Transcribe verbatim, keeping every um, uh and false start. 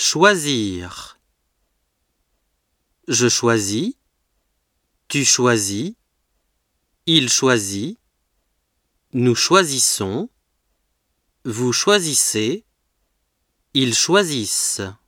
Choisir. Je choisis. Tu choisis. Il choisit. Nous choisissons. Vous choisissez. Ils choisissent.